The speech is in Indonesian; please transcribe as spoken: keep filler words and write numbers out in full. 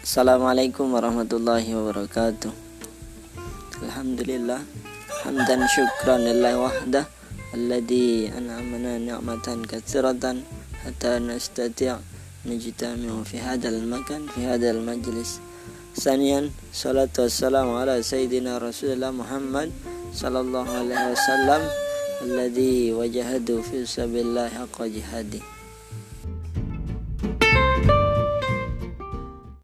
Assalamualaikum warahmatullahi wabarakatuh. Alhamdulillah hamdan syukran lillahi wahdah alladzi an'amana ni'matan katsiratan hatta nastati' najtami'u fi hadzal makan fi hadzal majlis. Saniyan salatu wassalamu ala sayyidina Rasulillah Muhammad sallallahu alaihi wasallam alladzi wajahadu fi sabilillahi haqqa jihadi.